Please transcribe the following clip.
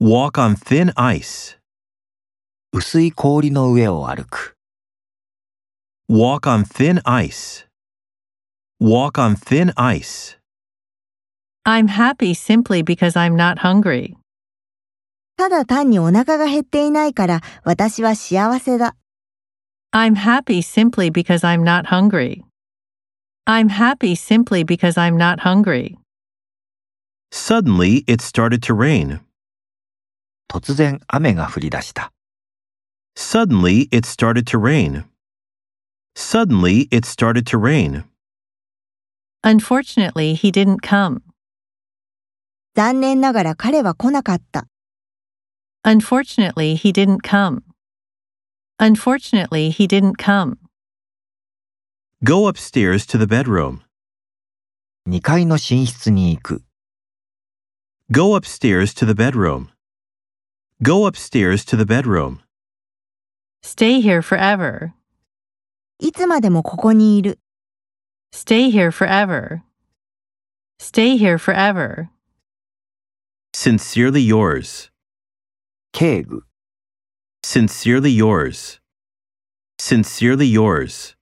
Walk on thin ice. 薄い氷の上を歩く。 Walk on thin ice. Walk on thin ice. I'm happy simply because I'm not hungry. ただ単にお腹が減っていないから私は幸せだ。 I'm happy simply because I'm not hungry. I'm happy simply because I'm not hungry. Suddenly, it started to rain. 突然雨が降り出した。 Suddenly, it started to rain. Suddenly, it started to rain. Unfortunately, he didn't come. 残念ながら彼は来なかった。 Unfortunately, he didn't come. Unfortunately, he didn't come. Go upstairs to the bedroom. 2階の寝室に行く。 Go upstairs to the bedroom. Go upstairs to the bedroom. Stay here forever. いつまでもここにいる。 Stay here forever. Stay here forever. Sincerely yours. 敬具。 Sincerely yours. Sincerely yours.